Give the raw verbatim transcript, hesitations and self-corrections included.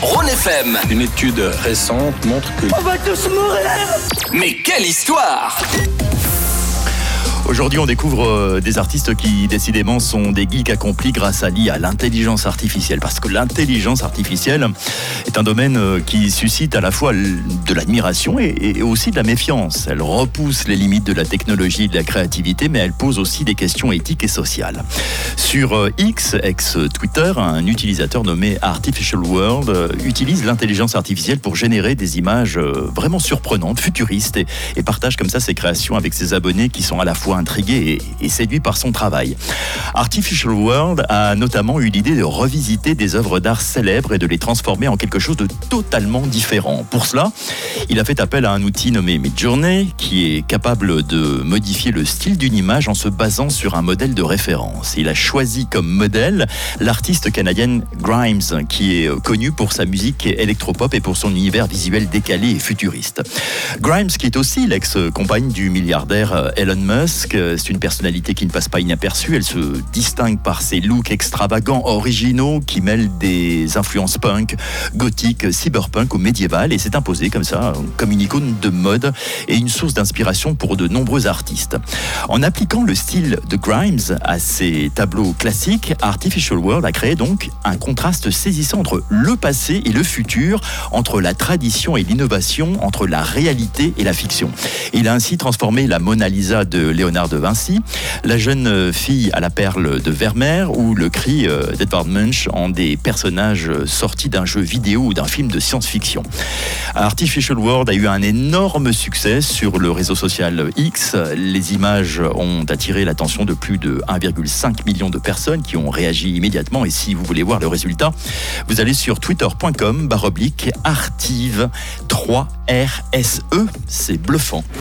Rhône F M. Une étude récente montre que... On va tous mourir! Mais quelle histoire! Aujourd'hui, on découvre euh, des artistes qui, décidément, sont des geeks accomplis grâce à l'I A, l'intelligence artificielle. Parce que l'intelligence artificielle est un domaine euh, qui suscite à la fois de l'admiration et, et aussi de la méfiance. Elle repousse les limites de la technologie et de la créativité, mais elle pose aussi des questions éthiques et sociales. Sur euh, X, ex-Twitter, un utilisateur nommé Artificial World euh, utilise l'intelligence artificielle pour générer des images euh, vraiment surprenantes, futuristes, et, et partage comme ça ses créations avec ses abonnés qui sont à la fois intrigué et, et séduit par son travail. Artificial World a notamment eu l'idée de revisiter des œuvres d'art célèbres et de les transformer en quelque chose de totalement différent. Pour cela, il a fait appel à un outil nommé Midjourney qui est capable de modifier le style d'une image en se basant sur un modèle de référence. Il a choisi comme modèle l'artiste canadienne Grimes, qui est connue pour sa musique électropop et pour son univers visuel décalé et futuriste. Grimes, qui est aussi l'ex-compagne du milliardaire Elon Musk, c'est une personnalité qui ne passe pas inaperçue. Elle se distingue par ses looks extravagants, originaux, qui mêlent des influences punk, gothique, cyberpunk ou médiévales, et s'est imposée comme ça, comme une icône de mode et une source d'inspiration pour de nombreux artistes. En appliquant le style de Grimes à ses tableaux classiques, Artificial World a créé donc un contraste saisissant entre le passé et le futur, entre la tradition et l'innovation, entre la réalité et la fiction. Il a ainsi transformé la Mona Lisa de Léonard de Vinci, la jeune fille à la perle de Vermeer ou le cri d'Edvard Munch en des personnages sortis d'un jeu vidéo ou d'un film de science-fiction. Artificial World a eu un énorme succès sur le réseau social X. Les images ont attiré l'attention de plus de un virgule cinq million de personnes qui ont réagi immédiatement, et si vous voulez voir le résultat, vous allez sur twitter point com barre oblique artive trois R S E. C'est bluffant.